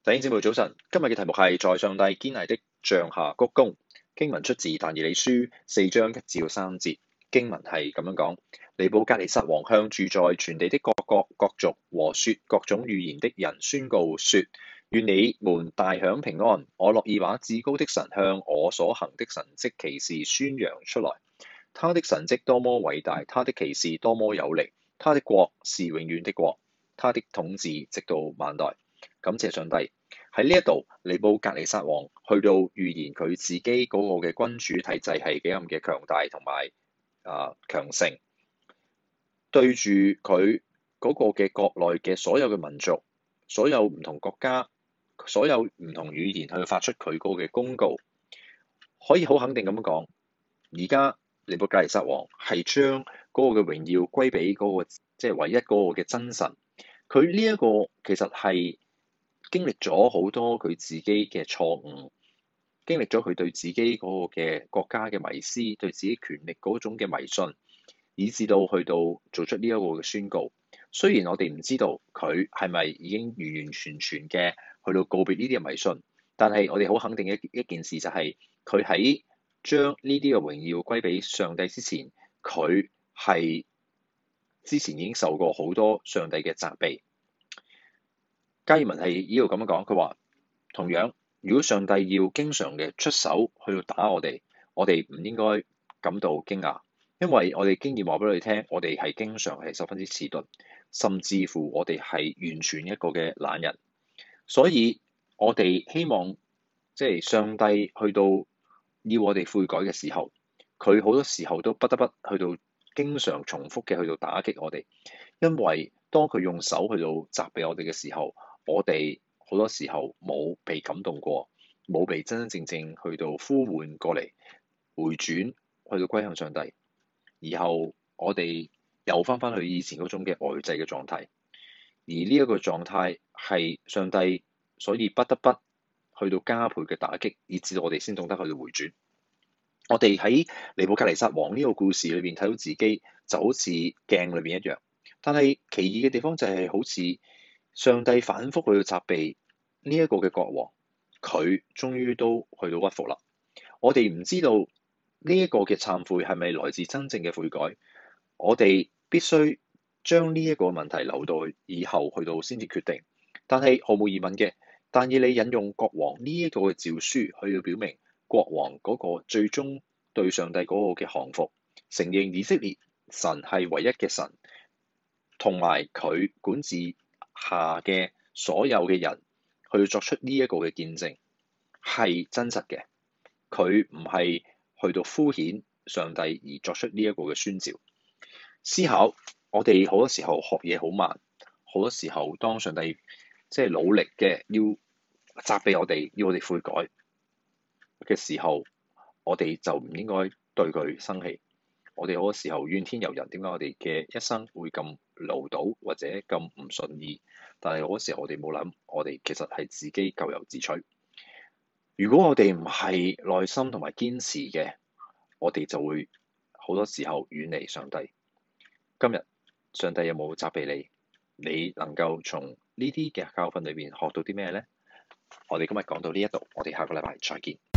弟兄姊妹早晨，今日嘅題目係在上帝堅毅的杖下鞠躬。經文出自但以理書4章1至3節。經文係咁樣講：尼布甲尼撒王向住在全地的各國各族和說各種語言的人宣告說：願你們大享平安！我樂意把至高的神向我所行的神蹟奇事宣揚出來。他的神蹟多麼偉大，他的奇事多麼有力，他的國是永遠的國，他的統治直到萬代。感謝上帝，喺呢一度，尼布甲尼撒王去到預言佢自己嗰個嘅君主體制係幾咁嘅強大同埋強盛，對住佢嗰個嘅國內嘅所有嘅民族、所有唔同國家、所有唔同語言去發出佢嗰個嘅公告，可以好肯定咁樣講，而家尼布甲尼撒王係將嗰個嘅榮耀歸俾嗰個即係唯一嗰個嘅真神。佢呢一個其實係經歷咗好多佢自己嘅錯誤，經歷咗佢對自己嗰個嘅國家嘅迷思，對自己權力嗰種嘅迷信，以至到去到做出呢一個嘅宣告。雖然我哋唔知道佢係咪已經完完全全嘅去到告別呢啲嘅迷信，但係我哋好肯定一件事就係佢喺將呢啲嘅榮耀歸俾上帝之前，佢係之前已經受過好多上帝嘅責備。加爾文係呢度咁樣講，佢話同樣，如果上帝要經常嘅出手去到打我哋唔應該感到驚訝，因為我哋經驗話俾你聽，我哋係經常係十分之遲鈍，甚至乎我哋係完全一個嘅懶人。所以我哋希望即係上帝去到要我哋悔改嘅時候，佢好多時候都不得不去到經常重複嘅去到打擊我哋，因為當佢用手去到責備我哋嘅時候，我哋好多時候冇被感動過，冇被真真正正去到呼喚過嚟回轉，去到歸向上帝，然後我哋又翻返去以前嗰種嘅呆滯嘅狀態，而呢一個狀態係上帝所以不得不去到加倍嘅打擊，以至到我哋先懂得去到回轉。我哋喺尼布甲尼撒王呢個故事裏邊睇到自己就好似鏡裏邊一樣，但係奇異嘅地方就係好似上帝反覆去到責備呢一個嘅國王，佢終於都去到屈服啦。我哋唔知道呢一個嘅懺悔係咪來自真正嘅悔改，我哋必須將呢一個問題留到以後去到先至決定。但係毫無疑問嘅，但以理引用國王呢一個嘅詔書去到表明國王嗰個最終對上帝嗰個嘅降服，承認以色列神係唯一嘅神，同埋佢管治下嘅所有嘅人去作出呢一個嘅見證係真實嘅，佢唔係去到敷衍上帝而作出呢一個嘅宣召。思考，我哋好多時候學嘢好慢，好多時候當上帝即係努力嘅要責備我哋，要我哋悔改嘅時候，我哋就唔應該對佢生氣。我哋好多時候怨天尤人，點解我哋嘅一生會咁潦倒或者咁唔順意？但係好多時候我哋冇諗，我哋其實係自己咎由自取。如果我哋唔係耐心同埋堅持嘅，我哋就會好多時候遠離上帝。今日上帝有冇責備你？你能夠從呢啲嘅教訓裏邊學到啲咩呢？我哋今日講到呢一度，我哋下個禮拜再見。